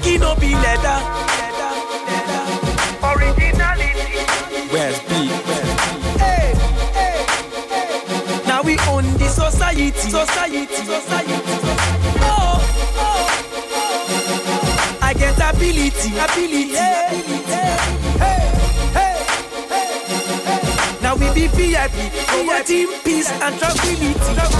Cocky no be leather. Originality. Where's B? Hey, hey, hey. Now we own the society. Oh. I get ability. Hey. Now we be VIP, team, peace and tranquility.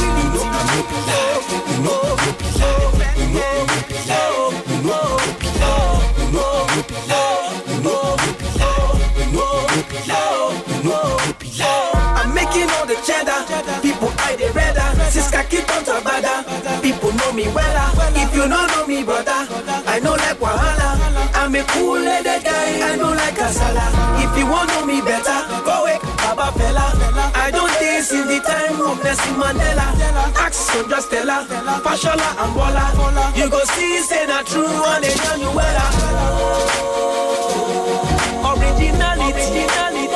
I'm making all the cheddar. People eye the redder. Siska keep on tabada. People know me well. If you don't know me, brother, I know like Wahala. I'm a cool-headed guy. I know like Kasala. If you want to know me better, go away, Baba Fella. I don't dance in the time of Nelson Mandela. Ask Sondra Stella, Fashola and Bola. You go see, say that true one, they know you well. Originality.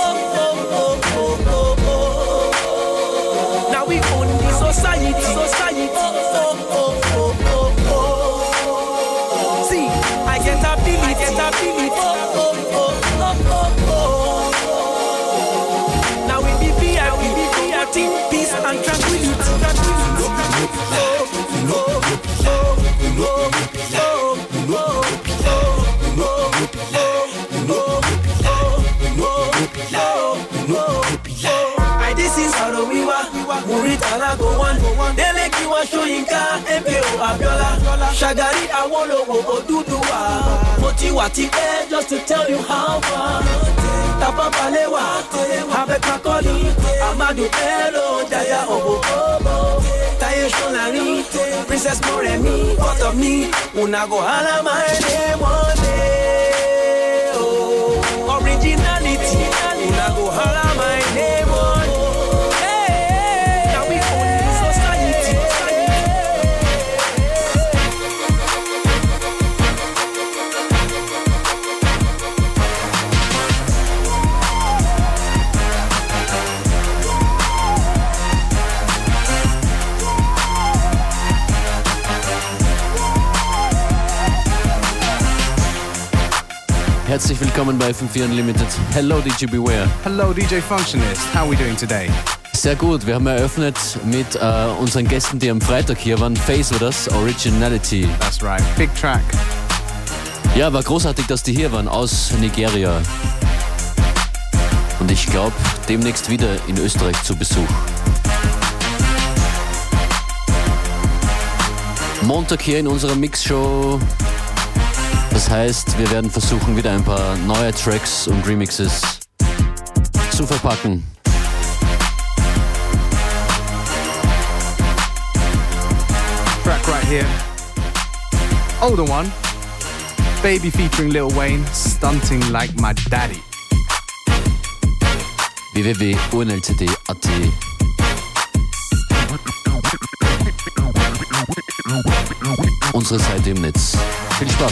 Now we own the society. See, I get ability. Now we be VIP, team, peace and tranquility. This is how we were. Muritala go one. They like you are showing car. MPO Abiola. Shagari Awolowo Oduduwa. Motiwati just to tell you how far. Tapa Palewa. Habe Kakoli. Amadu Elo. Jaya Obo. Taye Shonari. Princess Moremi. Out of me. Unago Hala my name one day. Originality. Unago Hala my name one. Herzlich willkommen bei FM4 Unlimited. Hello DJ Beware. Hello DJ Functionist. How are we doing today? Sehr gut, wir haben eröffnet mit unseren Gästen, die am Freitag hier waren. Face war das, Originality. That's right, big track. Ja, war großartig, dass die hier waren, aus Nigeria. Und ich glaube, demnächst wieder in Österreich zu Besuch. Montag hier in unserer Mixshow. Das heißt, wir werden versuchen, wieder ein paar neue Tracks und Remixes zu verpacken. Track right here. Older one. Baby featuring Lil Wayne, Stunting Like My Daddy. www.unlcd.at. Unsere Seite im Netz. Viel Spaß!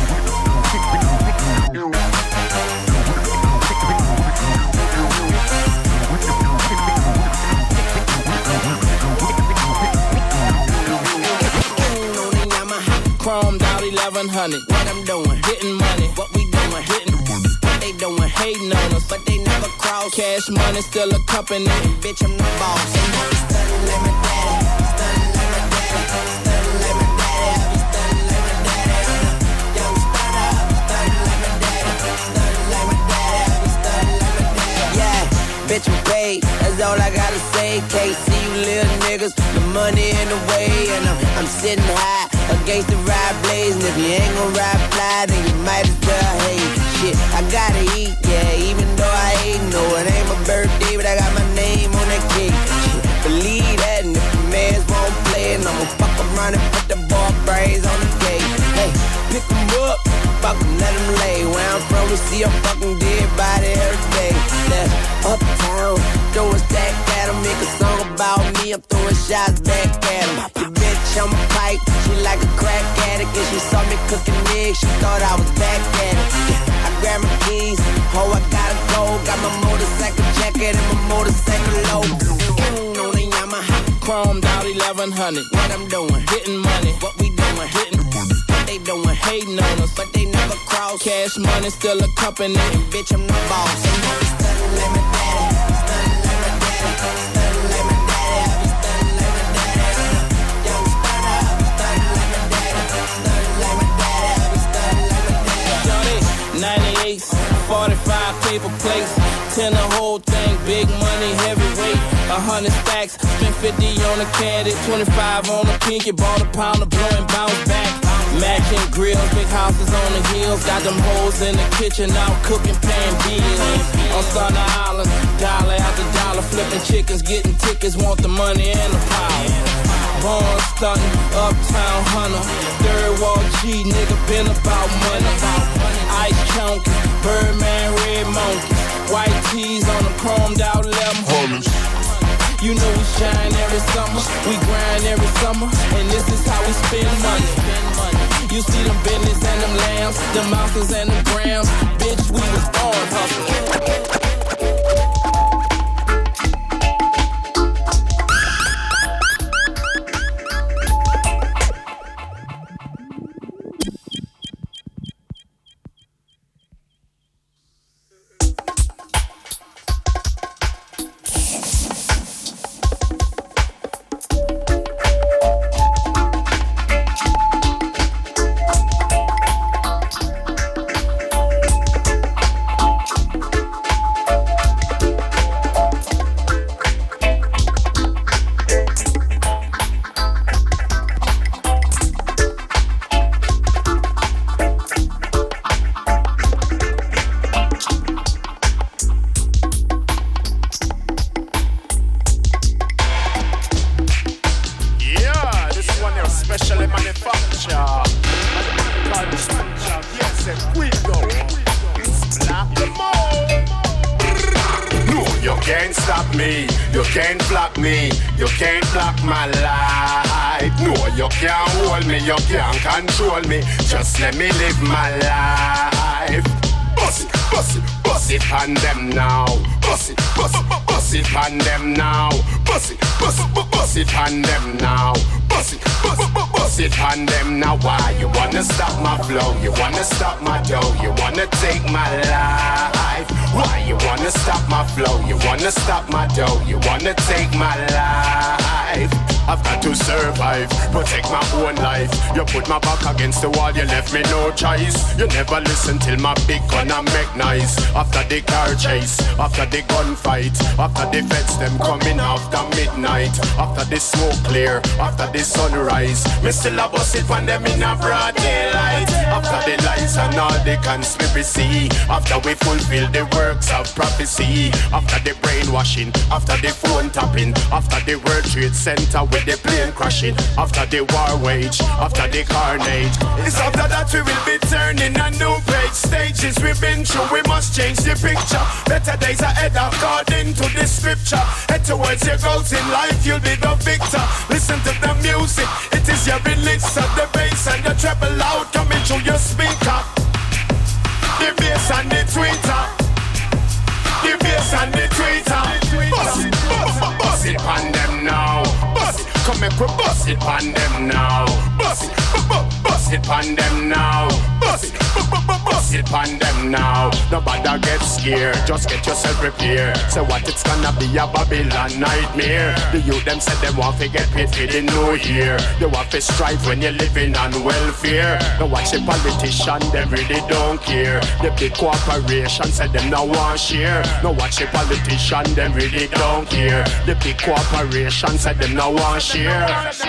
Chromed out 1100. What I'm doing, getting money. What we doing, hitting. What they doing, hating on us, but they never cross. Cash money still a company. Bitch, I'm the boss. They know we stunning like my daddy. Stunning like my daddy. Stunning like my daddy. I be stunning like my daddy. I'm the young stunner. Stunning like my daddy. Stunning like my daddy. I be stunning like my daddy. Yeah, bitch, I'm paid. That's all I gotta say. Can't see you little niggas. The money in the way, and I'm sitting high against the ride blaze. And if you ain't gon' ride fly, then you might as well hate. Shit, I gotta eat, yeah, even though I ain't. No, it ain't my birthday, but I got my name on that cake. Shit, believe that, and if the mans won't play, and I'ma fuck around and put the ball brains on the gate. Hey, pick 'em up, fuck 'em, let 'em lay. Where I'm from, we see a fucking dead body every day. That's uptown, throw a stack at 'em, make a song about me, I'm throwing shots back at 'em. Your bitch on my pipe, she like a crack addict, and she saw me cooking eggs, she thought I was back at it. Yeah, I grabbed my keys, oh I gotta go, got my motorcycle jacket and my motorcycle low. On the Yamaha, chromed out 1100. What I'm doing, getting money. What we doing, hitting. What they doing, hating on us, but Cash money still accompany. Bitch, I'm the boss. And you be stunning like my daddy. Stunning like my daddy. Stunning like my daddy. I be stunning like my daddy. Young stunner, I be stunning like my daddy. Stunning like my daddy. I be stunning like my daddy. 98, 45 paper plates. 10 the whole thing, big money, heavyweight. 100 stacks, spent 50 on a caddy, 25 on a pinky, bought a pound of blow and bounce back. Matching grills, big houses on the hills, got them hoes in the kitchen, out cooking, paying bills. On Thunder Island, dollar after dollar, flipping chickens, getting tickets, want the money and the power. Born stunting, uptown hunter, third wall G, nigga been about money. Ice chunky, Birdman, red monkey, white tees on the chromed out 1100s. You know we shine every summer, we grind every summer, and this is how we spend money. You see them Bentleys and them lambs, them mountains and them grams. Bitch, we was born hustling. Just let me live my life. Bust it on them now. Bust it on them now. Bust it on them now. Bust it on them now. Why you wanna stop my flow? You wanna stop my dough? You wanna take my life? Why you wanna stop my flow? You wanna stop my dough? You wanna take my life? I've got to survive, protect my own life. You put my back against the wall, you left me no choice. You never listen till my big gun I make noise. After the car chase, after the gunfight, after the feds them coming after midnight, after the smoke clear, after the sunrise, me still a bust it when them in a broad daylight. After the lies and all the conspiracy, after we fulfill the works of prophecy, after the brainwashing, after the phone tapping, after the World Trade Center with the plane crashing, after the war wage, after the carnage. It's after that we will be turning a new page. Stages we've been through, we must change the picture. Better days ahead according to the scripture. Head towards your goals in life, you'll be the victor. Listen to the music, it is your release of the bass and the treble loud coming through your speaker. The bass and the tweeter. The bass and the tweeter. Bust it on them now. Bust it, come and bust it on them now. Bust it on them now. Bust it on them now. Nobody get scared, just get yourself prepared. Say what it's gonna be a Babylon nightmare. The youth them said them want to get paid for the new year. They want to strive when you're living on welfare. Now watch the politician, them really don't care. The big corporation said them now want share. Now watch the politician, them really don't care. The big corporation said them now want share.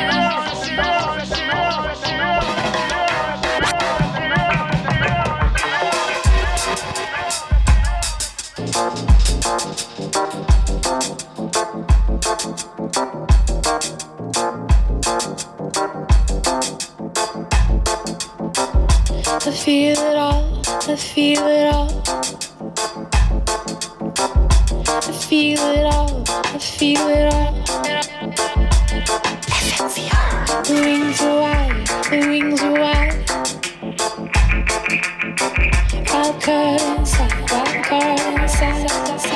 I feel it all, I feel it all. I feel it all, I feel it all. The wings are wide, the wings are wide. Wild card inside, wild card inside.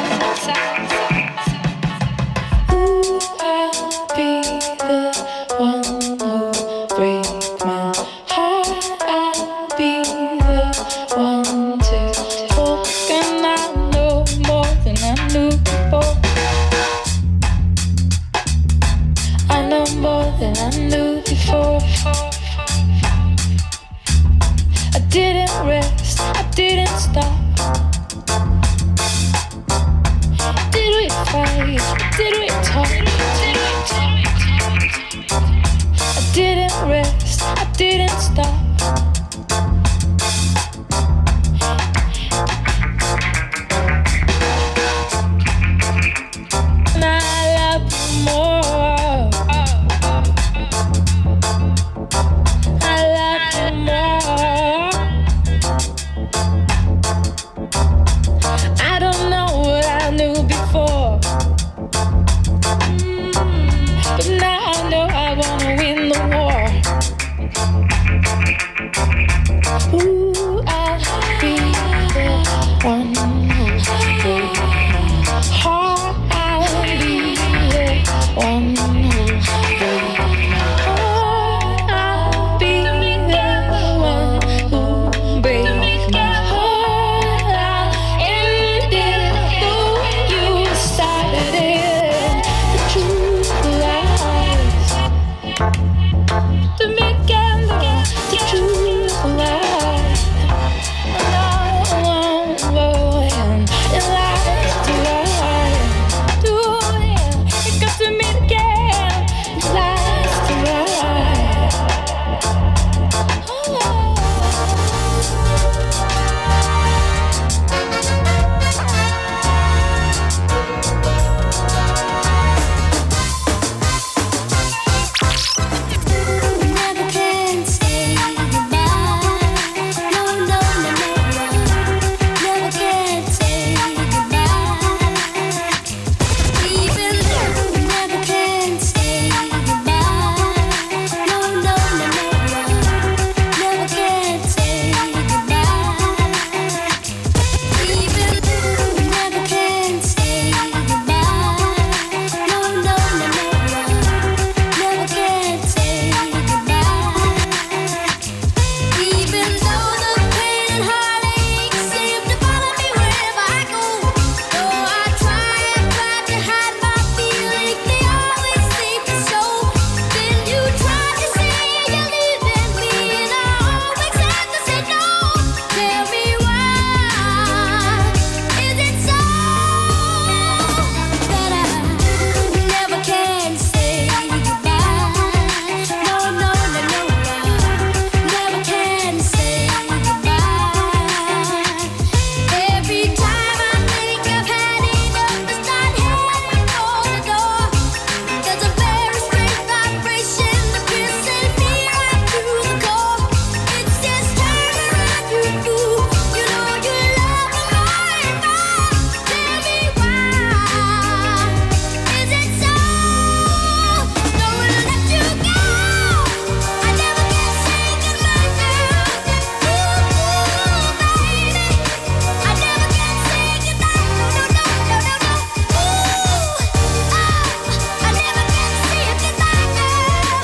Ooh, I'll be the one who break my heart. I'll be the one didn't rest, I didn't stop. Did we fight? Did we talk? I didn't rest, I didn't stop. And I love you more. I love you more. I don't know what I knew before, but now I know I wanna win the war. Ooh, I'll be the one who'll break my heart. I'll be the one who'll break my heart. I'll be the one who'll break my heart. I'll end it. Ooh, you started it. The truth lies. The weekend, the truth lies. No, it lies to lie. It got to meet again. It lies to lie. Never can say goodbye. No, no, no, no. Never can say goodbye. Even though we never can say goodbye. No, no, no, no. Never can say goodbye. Even though we never can say goodbye. No, no, no, no. Never can say goodbye. Even though the pain and heartache seem to follow me wherever I go, though I try to hide my feelings, they always seem to show. Then you try to say you're leaving me, and I always have to say no. Tell me why is it so that I never can say goodbye? No, no, no, no, never can say goodbye. Every time I think I've had enough to start heading for the door, there's a very strange vibration that pierces me right through the core. It's just turn around, you fool. You know you love me more and more. Tell me why is it so? Don't wanna let you go. I never can say goodbye, girl. Ooh, baby, I never can say goodbye. No, no, no, no, no, no. Ooh, I never can say goodbye, girl.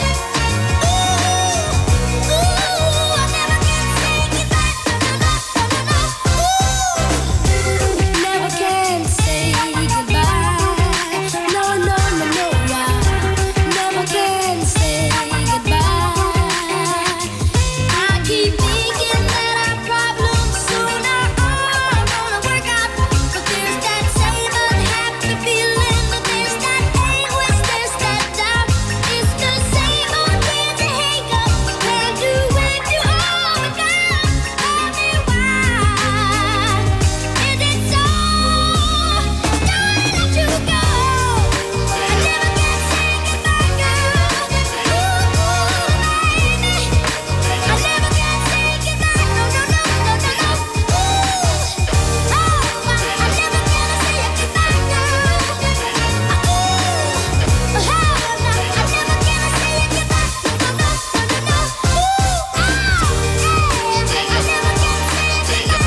Ooh, I never can say goodbye. No, no, no, no, no, no. Ooh, never can say goodbye. No, no, no, no, never can say goodbye. I keep thinking that our problems sooner are gonna work out, but there's that same unhappy feeling, that there's that anguish, there's that doubt. It's the same old tears and hiccups. Can't do when you hold me down. Tell me why is it so? Don't let you go. I never can say goodbye, girl. Ooh, baby, I never can say goodbye. No, no, no, no, no, no. Ooh, I never can say goodbye, girl. Ooh, I never can say goodbye. No, no, no, no, no. Ooh, I never can say goodbye,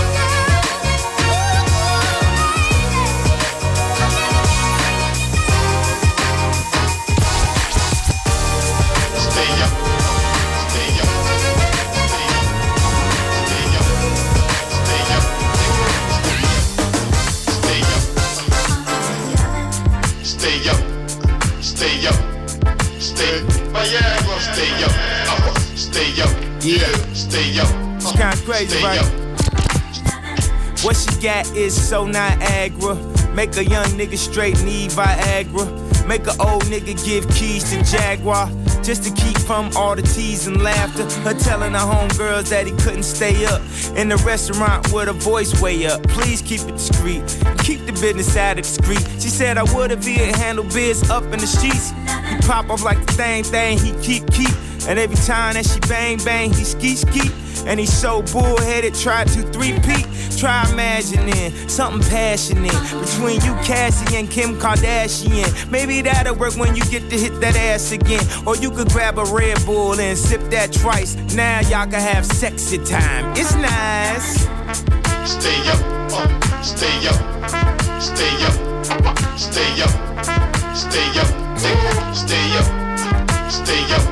Stay up, stay up, stay up, stay up, stay up, stay up, stay up, Viagra, stay up, stay up, Yeah. stay up, It's kind of crazy, stay right? up. What she got is so Niagara. Make a young nigga straight need Viagra. Make a old nigga give keys to Jaguar. Just to keep from all the tease and laughter. Her telling her homegirls that he couldn't stay up in the restaurant with her voice way up. Please keep it discreet. Keep the business out of the street. She said I would if he had handled biz up in the streets. He pop off like the thing he keep. And every time that she bang, he ski. And he's so bullheaded, try to 3-peat. Try imagining something passionate between you, Cassie, and Kim Kardashian. Maybe that'll work when you get to hit that ass again. Or you could grab a Red Bull and sip that twice. Now y'all can have sexy time. It's nice. Stay up, stay up, stay up, stay up, stay up, stay up, stay up,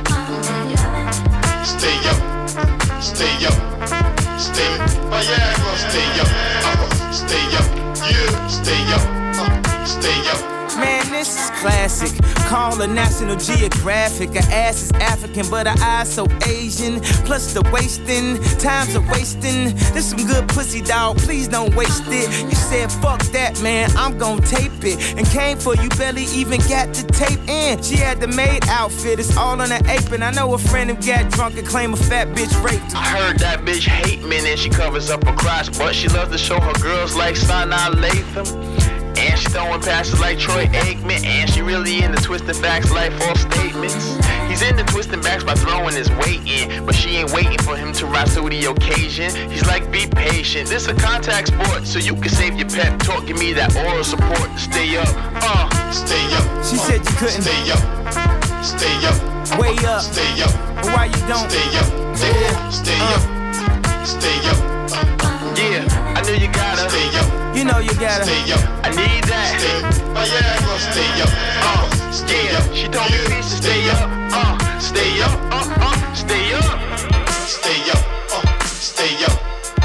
stay up. Stay up, stay up, Viagra, stay up, stay up, yeah, stay up, stay up. Man, this is classic. Call her National Geographic. Her ass is African, but her eyes so Asian. Plus the wasting, times are wasting. This some good pussy, dog. Please don't waste it. You said fuck that, man. I'm gon' tape it. And came for you, barely even got the tape in. She had the maid outfit. It's all on her apron. I know a friend who got drunk and claimed a fat bitch raped her. I heard that bitch hate men and she covers up her crotch, but she loves to show her girls like Sanaa Lathan. And she throwing passes like Troy Aikman. And she really into twisting backs like false statements. He's into twisting backs by throwing his weight in, but she ain't waiting for him to rise to the occasion. He's like, be patient. This a contact sport, so you can save your pep talk. Give me that oral support. Stay up, stay up. She said you couldn't. Stay up, stay up. Way up. Stay up. But why you don't? Stay up, stay up, stay up. Yeah, I knew you gotta. Stay up. You know you gotta. Stay up. I need that. Viagra, stay up. Yeah, she told me please to stay up. Stay up. Stay up. Stay up. Stay up.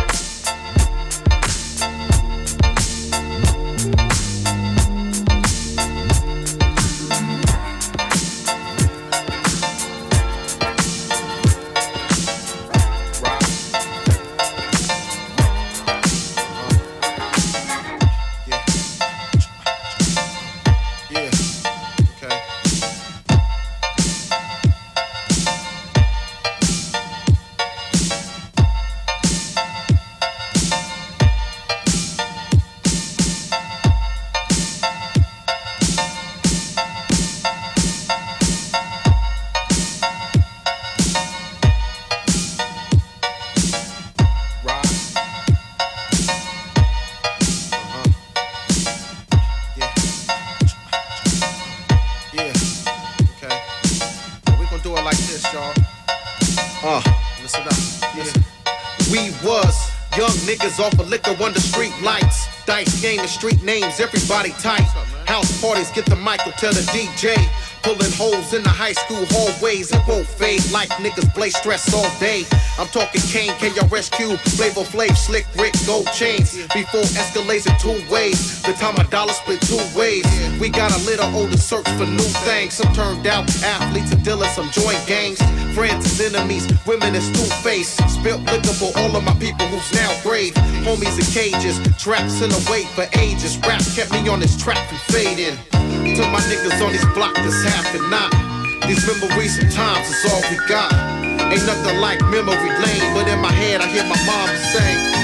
Off of liquor under street lights. Dice game and street names, everybody tight. House parties, get the mic, tell the DJ. Pulling holes in the high school hallways. It won't fade like niggas blaze stress all day. I'm talking Kane, KRSQ, Flavor Flav, Slick Rick, gold chains. Before escalates in 2 ways. The time a dollar split 2 ways. We got a little older search for new things. Some turned out athletes and dealers, some joint gangs. Friends and enemies, women is two-faced. Spilt liquor for all of my people who's now grave. Homies in cages, traps in the wait for ages. Rap kept me on this track from fading. To my niggas on this block that's half and not. These memories sometimes is all we got. Ain't nothing like memory lane, but in my head I hear my mom sing.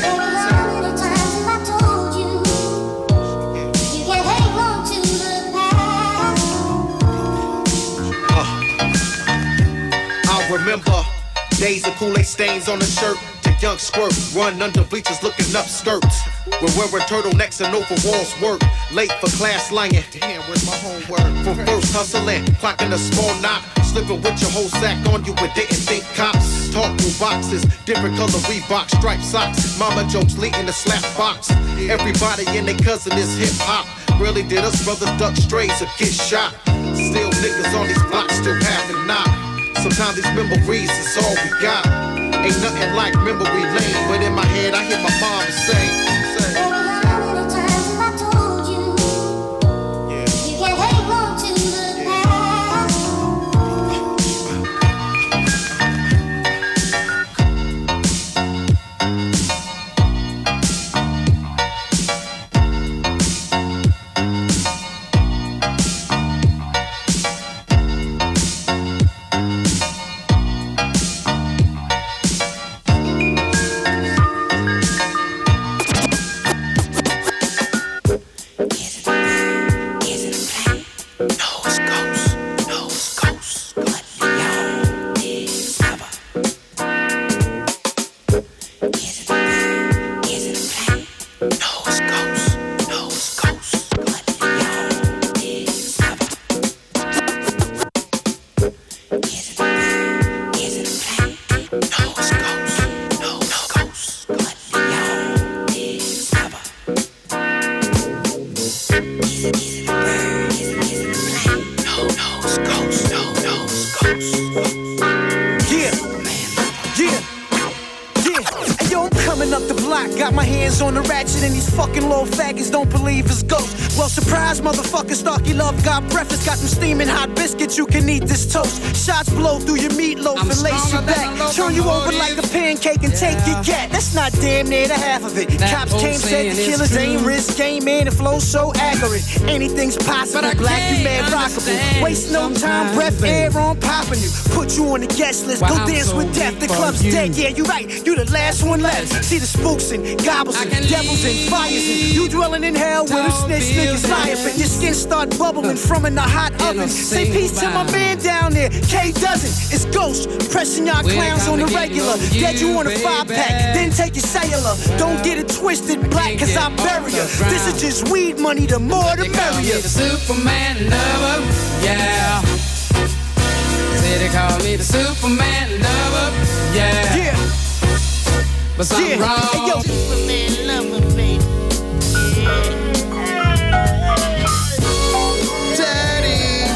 Remember days of Kool-Aid stains on the shirt. To young squirt, run under bleachers looking up skirts. We're wearing turtlenecks and overalls work. Late for class lying. Damn, where's my homework? From first hustling, clocking a small knot. Slipping with your whole sack on you, but didn't think cops. Talk through boxes, different color Reebok, striped socks. Mama jokes leading the slap box. Everybody and their cousin is hip hop. Really did us brothers duck strays or get shot. Still niggas on these blocks still having not. Sometimes these memories is all we got. Ain't nothing like memory lane, but in my head I hear my mom say. Got my hands on the ratchet and these fucking little faggots don't believe it's ghosts. Well, surprise, motherfucker, Starkey Love got breakfast. Got them steaming hot biscuits, you can eat this toast. Shots blow through your meatloaf and lace you back. Turn you over like a pancake and take your cat. That's not damn near the half of it. Cops came, said the killers ain't risk. Came in and flow so accurate. Anything's possible, black, you mad rockable. Waste no time, breath, air on popping you. Put you on the guest list, go dance with death. The club's dead, yeah, you right, you the last one left. See the spooks and gobbles and devils and fires and you dwelling in hell where the snitch niggas lie. But your skin start bubbling from in the hot oven. Say peace to my man down there, K doesn't. It's Ghost, pressing y'all clowns on the regular. Dead you on a 5-pack, then take your cellular. Don't get it twisted, black, cause I bury ya. This is just weed money, the more the merrier. The Superman lover, yeah. Say they call me the Superman lover, yeah. Yeah. But something wrong. Hey, yo. Superman lover, baby. Daddy.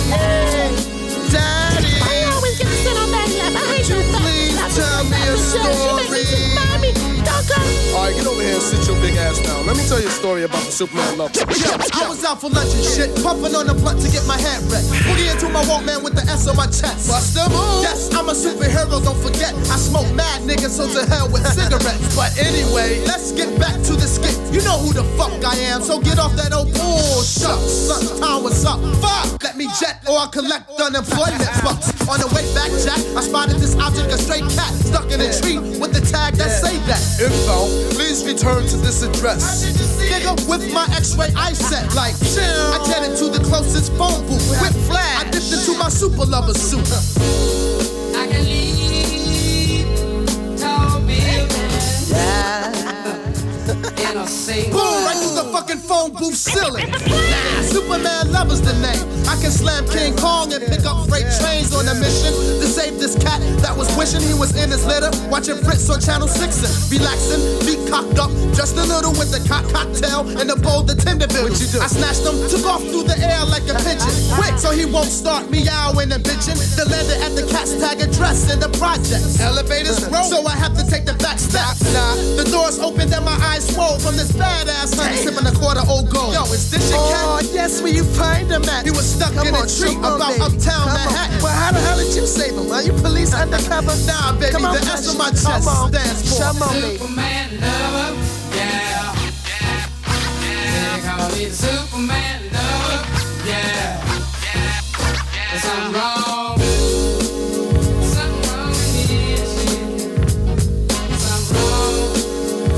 Daddy. I always get to sit on that lap. I hate you. Please tell me a story. Alright, get over here and sit your big ass down. Let me tell you a story about the Superman love. I was out for lunch and shit, puffing on the blunt to get my head wrecked. Boogie into my Walkman with the S on my chest. Bust the move. Yes, I'm a superhero, don't forget. I smoke mad niggas, so to hell with cigarettes. But anyway, let's get back to the skit. You know who the fuck I am, so get off that old bullshit. Suntown, what's up? Fuck! Let me jet or I'll collect unemployment bucks. On the way back, Jack, I spotted this object, a stray cat, stuck in a tree with the tag that say that. Info, please return to this address. Nigga, with my x-ray eye set, like, I jetted to the closest phone booth. Quick flash, I dipped into my super lover suit. I can leave, tall buildings. Yeah. In a single. Boom, right through the fucking phone booth ceiling. Nah, Superman lover's the name. I can slam King Kong and pick up freight trains on a mission to save this cat that was wishing he was in his litter, watching Fritz on Channel 6 and relaxing, feet cocked up, just a little with the cocktail and the bowl, the tender bills. I snatched him, took off through the air like a pigeon, quick so he won't start meowing and bitching. The landed at the cat's tag address in the projects. Elevators roll, so I have to take the back step. Nah, the doors opened and my eyes swole from this badass honey sipping a quarter old gold. Yo, is this your cat? Oh, yes, where you find him at? He was stuck in a tree about uptown Manhattan. Well, how the hell did you save him? Are you police undercover? Nah, baby, Come on, the S on my chest stands for Come on, baby. Superman lover, yeah. They call me the Superman lover, yeah. There's something wrong. Something wrong with this shit. Something wrong.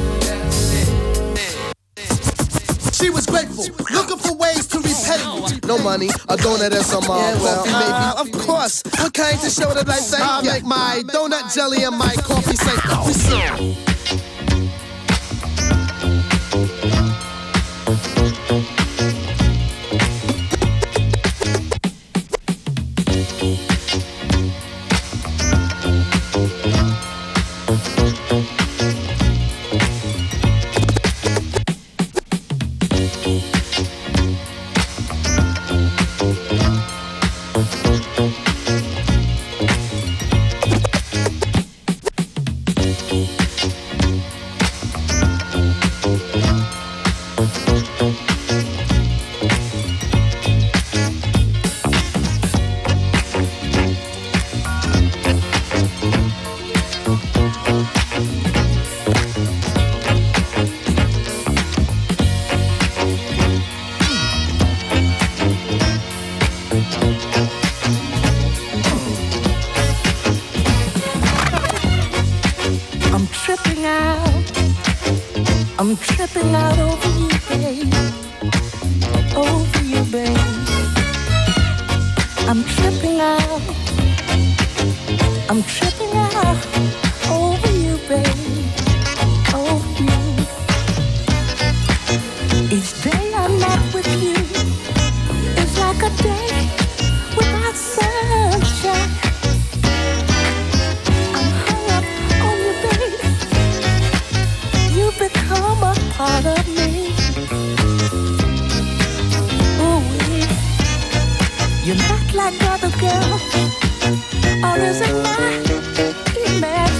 Yeah. She was grateful, looking for ways to repay me. No money, a donut and some coffee, maybe. Of course, what kind to show that I say? I'll make my donut jelly and my coffee say. I'm tripping out over you, babe. Over you, babe. I'm tripping out. I'm tripping out over you, babe. Over you. Each day I'm not with you. It's like a day without sunshine. I'm hung up on you, babe. You've become a part of me. Ooh, you're not like other girls, or is it my imagination?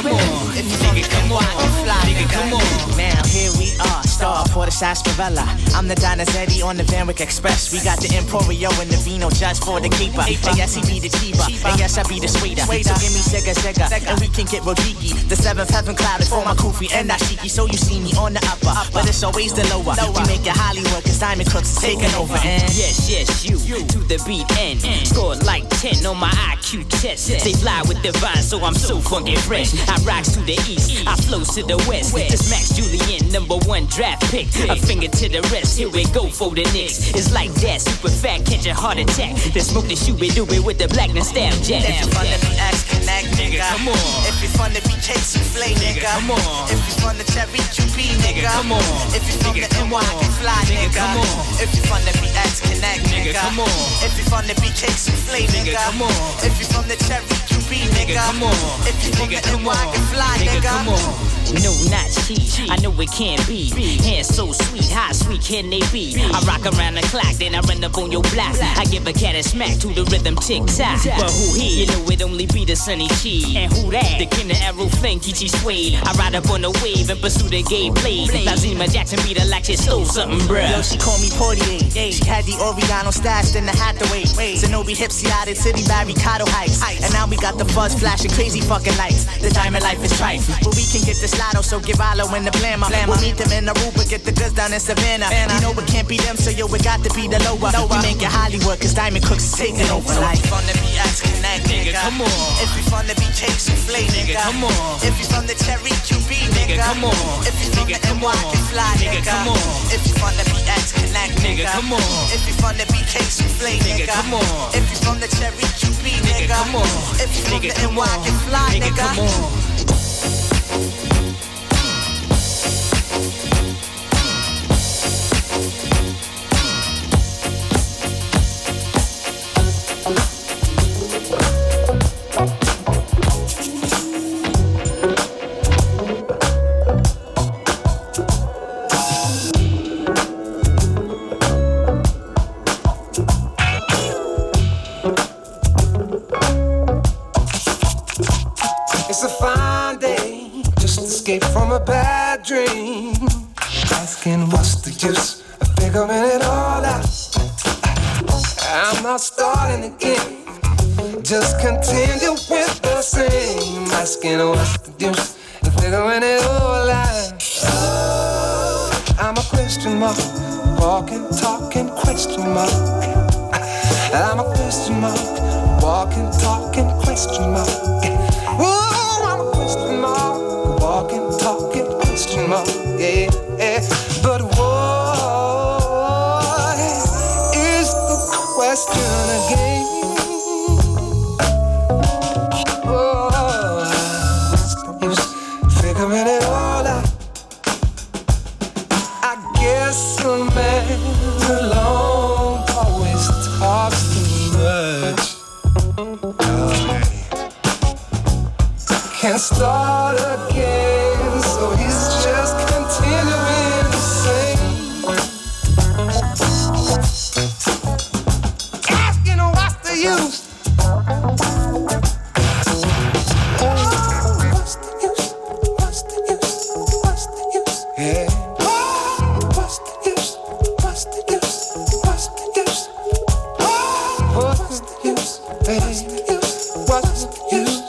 come on. Nigga, come on. Nigga, come on. Now here we are, star for the sarsaparilla. I'm the Donizetti on the Van Wyck Express. We got the Emporio and the Vino just for the keeper. And yes, he be the keeper. And yes, I be the sweeter. So give me Sega, and we can get Rodiki. The seventh heaven clouded for my kufi and Ashiki. So you see me on the upper, but it's always the lower. We make it Hollywood, cause Diamond Crooks is taking over. And yes, you to the beat and scored like 10 on my IQ test. They fly with divine, so I'm so funky fresh. I rocks to the east, I flows to the west. This Max Julian, #1 draft pick. A finger to the rest, here we go for the Knicks. It's like that, super fat, catch a heart attack. The smoke the shoe we do it with the black nostalgia. If you fun to be X Connect, nigga, come on. If you fun to be Chase and Flay, nigga, come on. If you fun to Cherry QB, nigga, come on. If you fun to NY and Fly, nigga, come on. If you fun to be X Connect, nigga, come on. If you fun to be Chase and Flay, nigga, come on. If you from the Cherry QB, nigga, come on. If you from the NY and Fly, nigga, come on. No, not cheat. I know it can't be. Hands so sweet, how sweet can they be? I rock around the clock, then I run up on your block. I give a cat a smack to the rhythm tick-tock. But who he? You know it only be the Sunny Chi. And who that? The King of Arrow Flame, Kichi Suede. I ride up on the wave and pursue the gay blade. Lazima Jackson beat her like she stole something, bruh. Yo, she called me Portier. She had the Oriano stashed in the Hathaway. Zenobi Hipsy out at City Barricado Heights. And now we got the fuzz flashing crazy fucking lights. The diamond life is trite, but we can get this lotto, so give Alo in the blammer. We'll meet them in Aruba, get the goods down in Savannah. You know it can't be them, so yo, it got to be the lower. We make it Hollywood, cause Diamond Crooks is taking over. So if you fun to be X Connect, nigga, come on. If you fun to be Chase and Flay, nigga, come on. If you from the Cherry QB, nigga, come on. If you from the NY and Fly, nigga, come on. If you fun to be X Connect, nigga, come on. If you fun to be Chase and Flay, nigga, come on. If you from the Cherry QB, nigga, come on. If you from the NY and Fly, nigga, come on. From a bad dream, asking what's the use of figuring it all out. I'm not starting again, just continue with the same. Asking what's the use of figuring it all out. I'm a question mark, walking, talking question mark. I'm a question mark, walking, talking question mark. Ooh, I'm a question mark. Walking, talking, question mark, yeah, yeah. But what is the question again? Oh, what's the use figuring it all out? I guess a man alone always talks too much. Can't start again, so he's just continuing the same. Asking what's the use? Oh, what's the use? What's the use? What's the use? Yeah. Oh, what's the use? What's the use? What's the use? Oh, what's the use? What's the use? What's the use?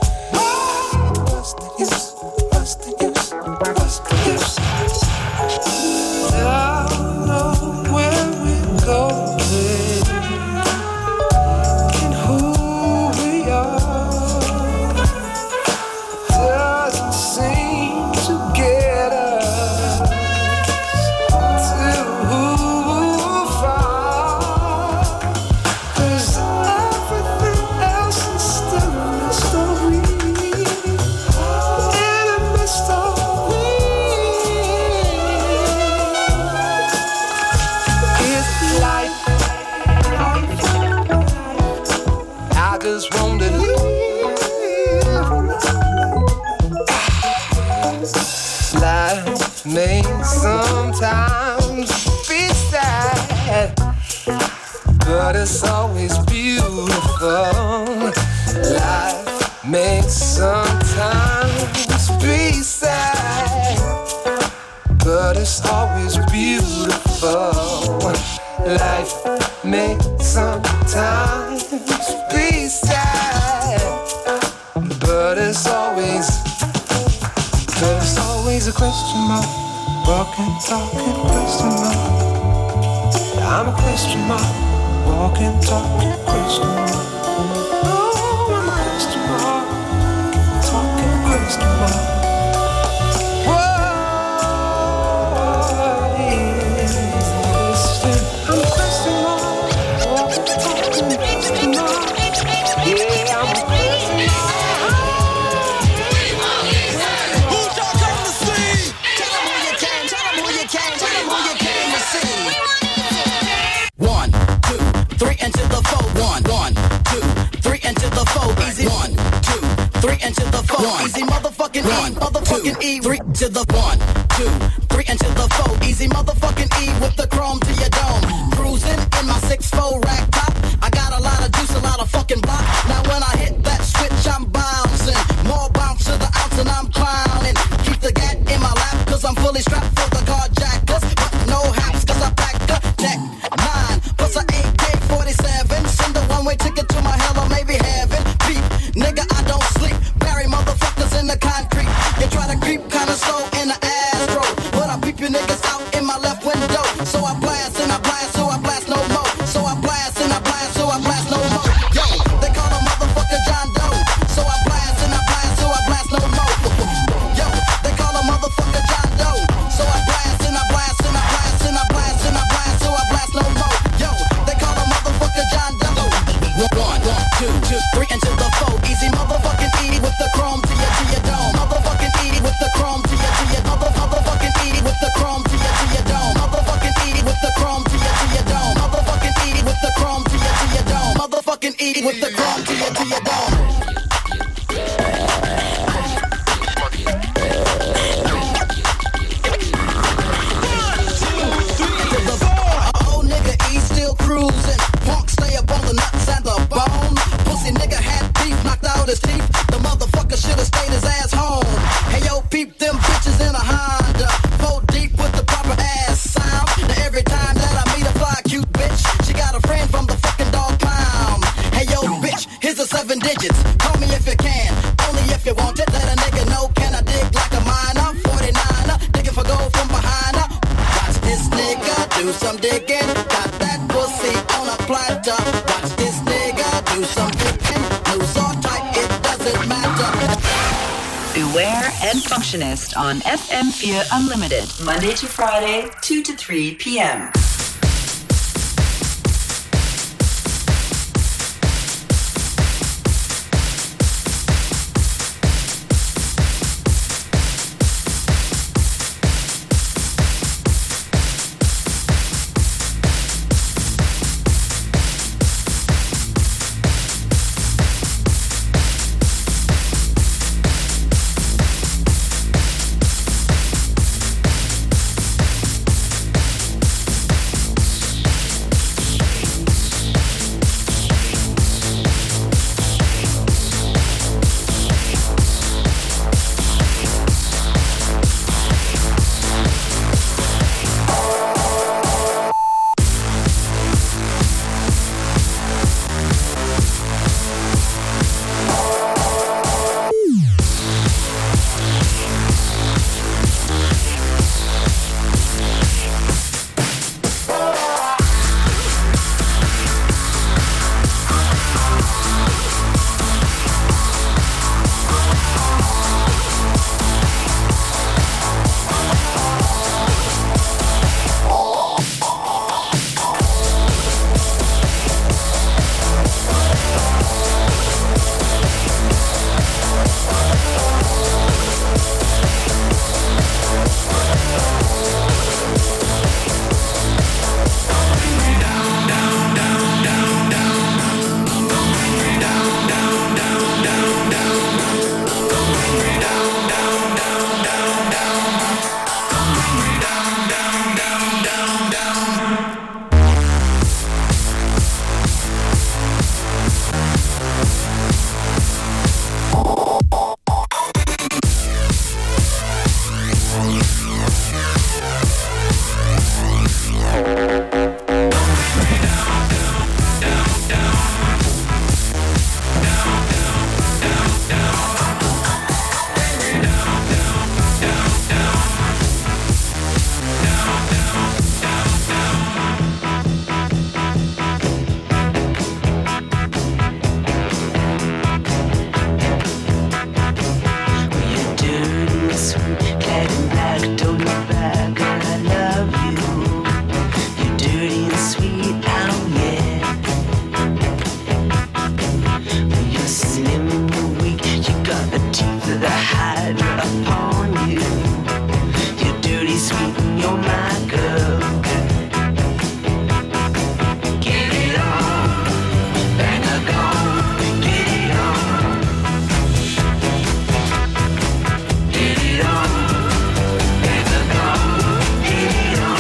Sometimes be sad, but it's always beautiful. Life makes sometimes always a question mark. Walking, talking, question mark. I'm a question mark. Walking, talking, question mark. Oh, I'm a question mark. Talking, question mark. Whoa, yeah. I'm a question mark. Walking, talking, question mark. Yeah, I'm a question mark. Into the four, one, 2, 3 into the four, easy 1, 2, 3 into the four, easy motherfucking E, motherfucking E, 3 to the 1, 2, 3 into the four, easy motherfucking E with the chrome to your dome, cruising in my 6'4" rack top, I got a lot of juice, a lot of fucking block, now when I hit that switch I'm bouncing, more bounce to the ounce and I'm clowning, keep the gat in my lap cause I'm fully strapped for the carjackers, but no haps cause I pack a tech 9, plus a AK-47, send a one-way ticket to my hell or maybe heaven. Beep, nigga, I don't sleep. Bury motherfuckers in the concrete. You try to creep kinda slow in the Astro, but I peep you niggas out in my left window. So I blast and I blast, so I blast no more. So I blast and I blast, so I blast no more. Yo, they call a motherfucker John Doe. So I blast and I blast, so I blast no more. Yo, they call a motherfucker John Doe. So I blast and I blast and I blast and I blast and I blast, so I blast no more. Yo, they call a motherfucker John Doe. 1, 2, 3 into the four. Easy motherfucking E with the chrome to your dome. Motherfucking E with the chrome to your motherfucking E with the chrome to your dome. Motherfucking E with the chrome to your dome. Motherfucking E with the chrome to your dome. Motherfucking E with the chrome to your dome. Oh nigga E still cruising. Punk stay up on the nuts and the bone. Pussy nigga had beef, knocked out his teeth. The motherfucker should've stayed his ass home. Hey yo, peep them bitches in a Honda. 4 deep with the proper ass sound. Now every time that I meet a fly cute bitch, she got a friend from the fucking dog pound. Hey yo, bitch, here's the 7 digits. Call me if you can, only if you want it. Let a nigga know, can I dig like a miner? 49er, digging for gold from behind her. Watch this nigga do some digging. Got that pussy on a platter. Watch this nigga do some digging. Loose or tight, it doesn't matter. Beware and Functionist on FM4 Unlimited, Monday to Friday, 2 to 3 p.m. don't look back and I love you. You're dirty and sweet, oh yeah. But you're slim and you're weak, you got the teeth of the Hydra upon you. You're dirty, sweet, and you're my girl. Get it on, bang a gong, get it on. Get it on, bang a gong, get it on.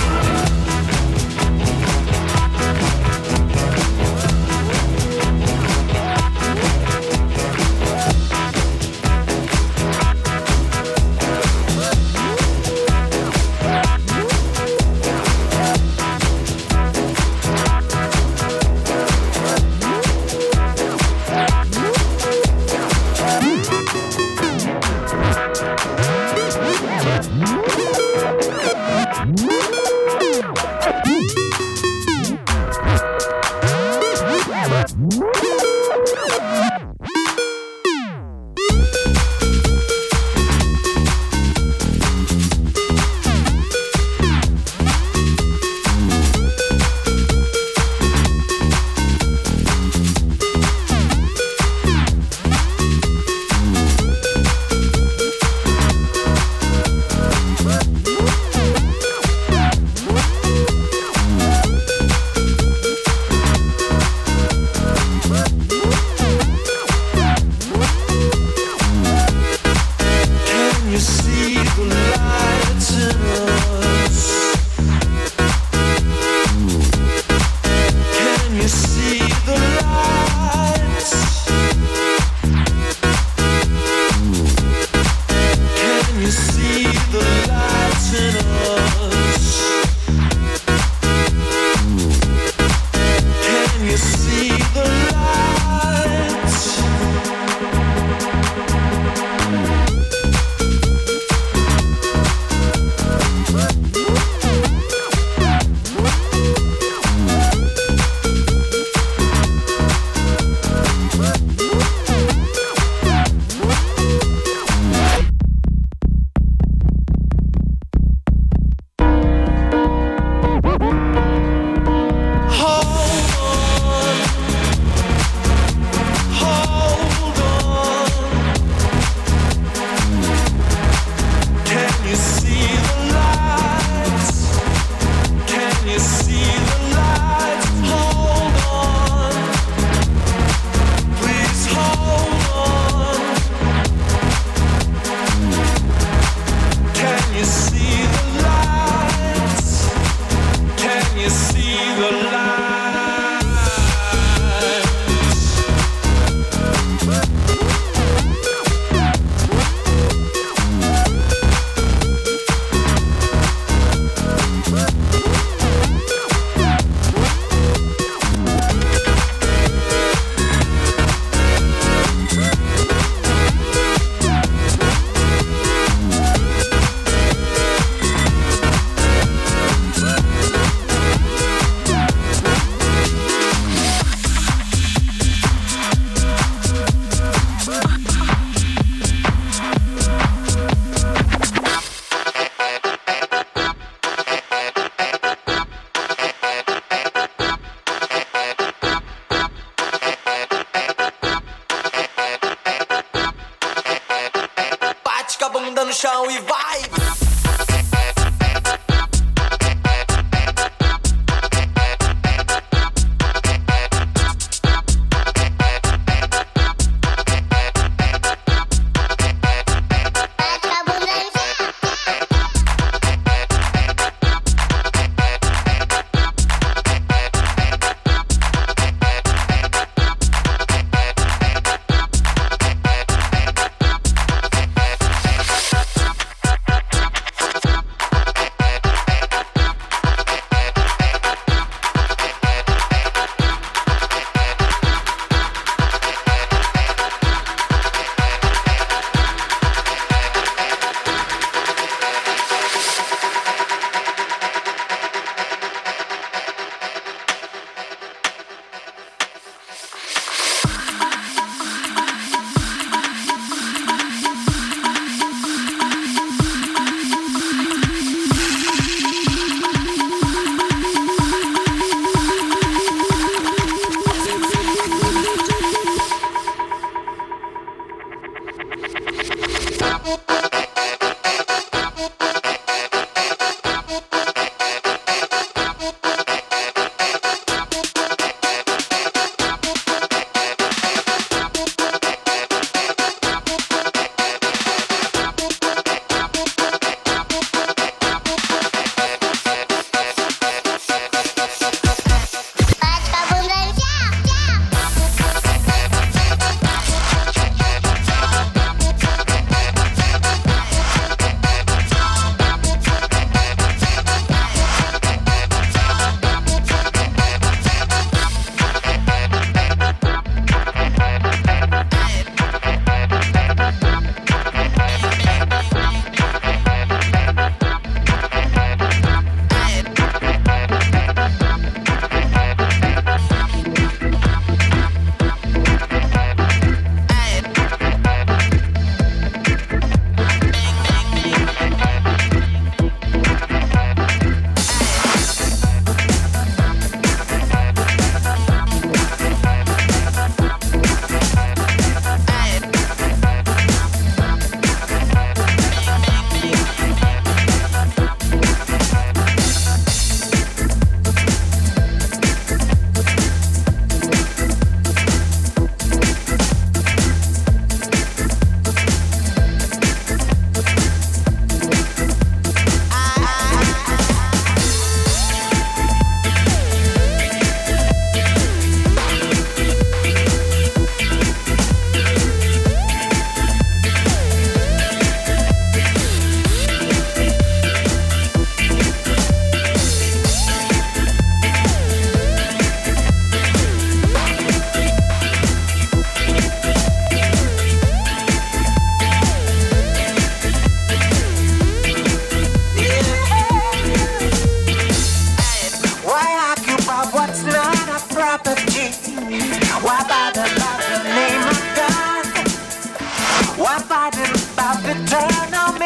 chão e vai!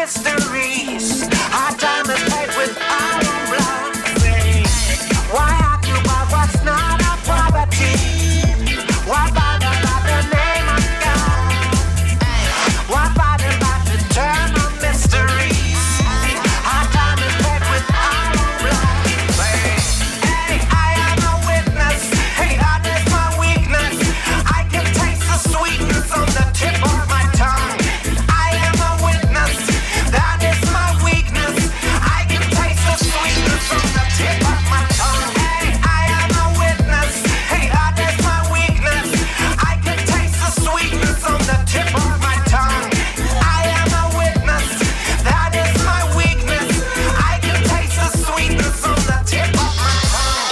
mysteries. Our time is paid with our own blood. Why argue about what's not our property? Why bother about the name of God? Why bother about the term of mysteries? Our time is paid with our own blood. Hey, I am a witness. Hey, that is my weakness. I can taste the sweetness on the tip of my tongue. I am a witness. That is my weakness. I can taste the sweetness on the tip of my tongue. Hey, I am a witness. Hey, that is my weakness. I can taste the sweetness on the tip of my tongue. I am a witness. That is my weakness. I can taste the sweetness on the tip of my tongue.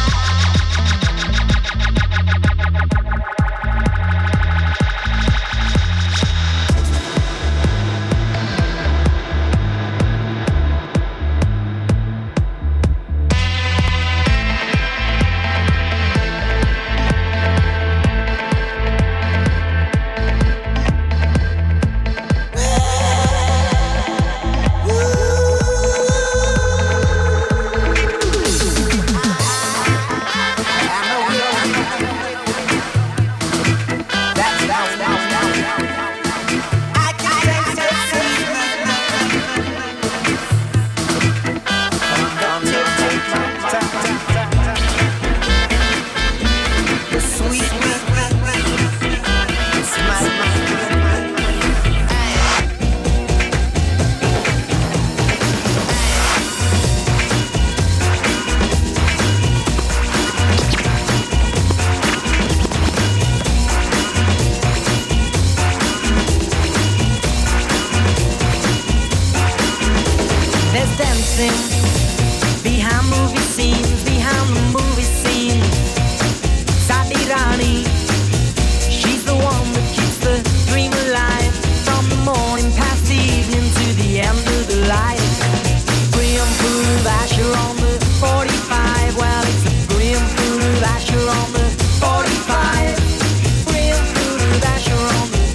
There's dancing behind movie scenes, behind the movie scene. Sadi Rani, she's the one that keeps the dream alive. From the morning past the evening to the end of the light. Brim food of Asher on the 45. Well, it's a brim food of Asher on the 45. Brim food of Asher on the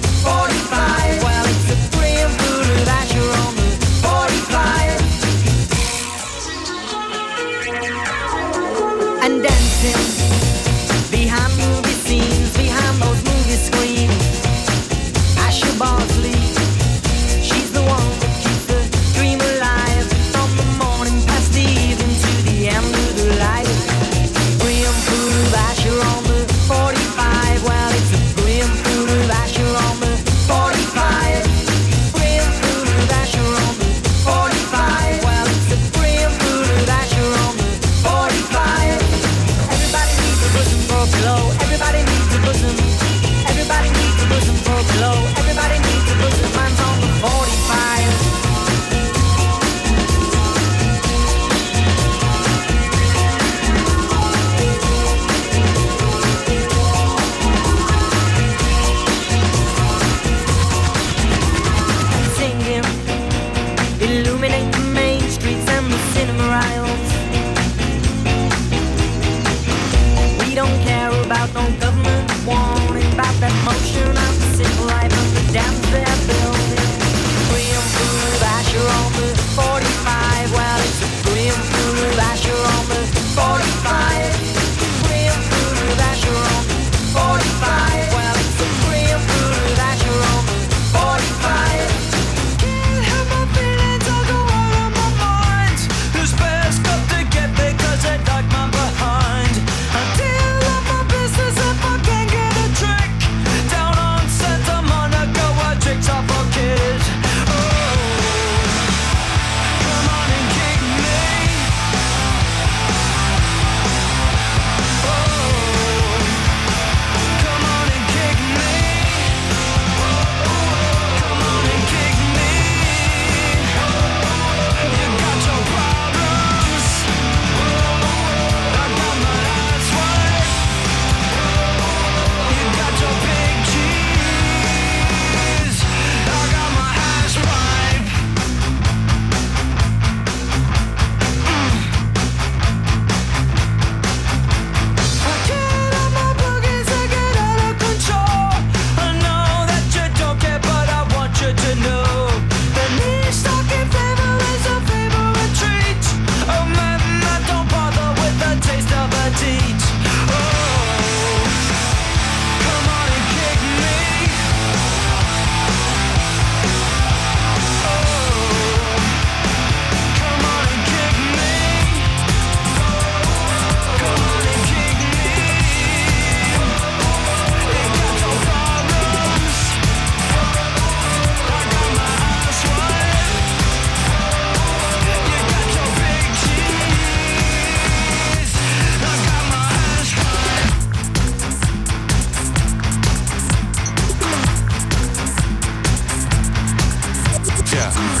45. Well, it's a brim food of Asher on the 45.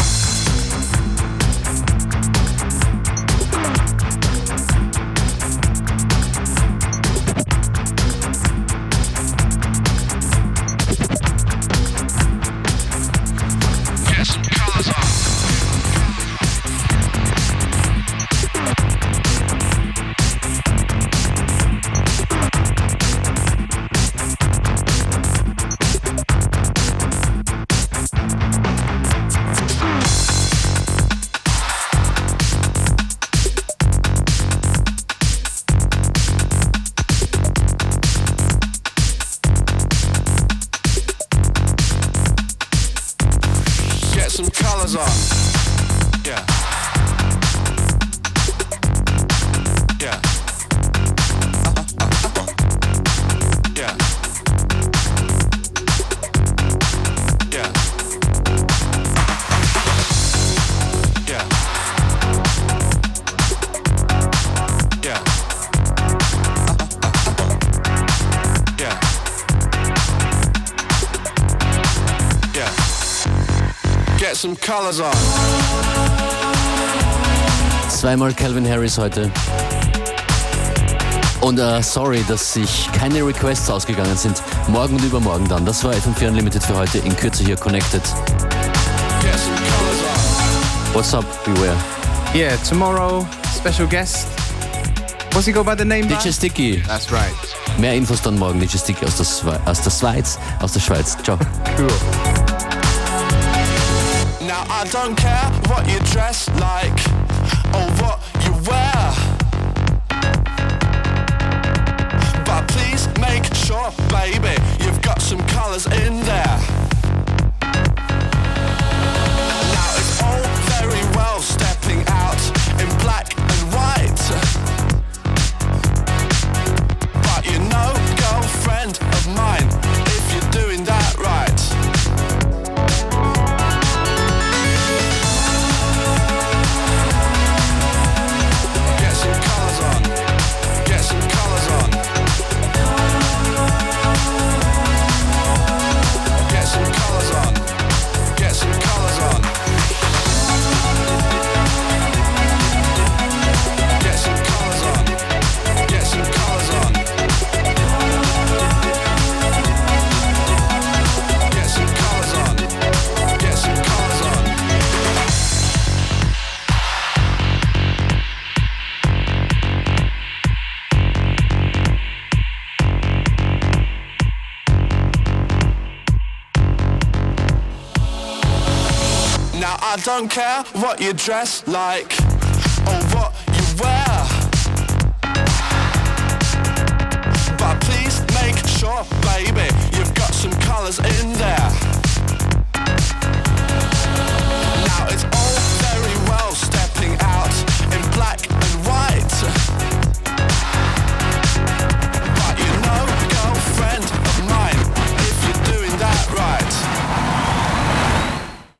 Some colors on. Zweimal Calvin Harris heute. Und sorry, dass sich keine Requests ausgegangen sind. Morgen und übermorgen dann. Das war FM4 Unlimited für heute. In Kürze hier Connected. What's up, Beware? Yeah, tomorrow, special guest. What's he go by the name? DJ Sticky. That's right. Mehr Infos dann morgen. DJ Sticky aus der Schweiz. Ciao. Cool. Now I don't care what you dress like or what you wear, but please make sure, baby, you've got some colours in there. Now it's all very well stepping out in black and white, but you know, girlfriend of mine, if you're doing that right. I don't care what you dress like or what you wear, but please make sure, baby, you've got some colours in there.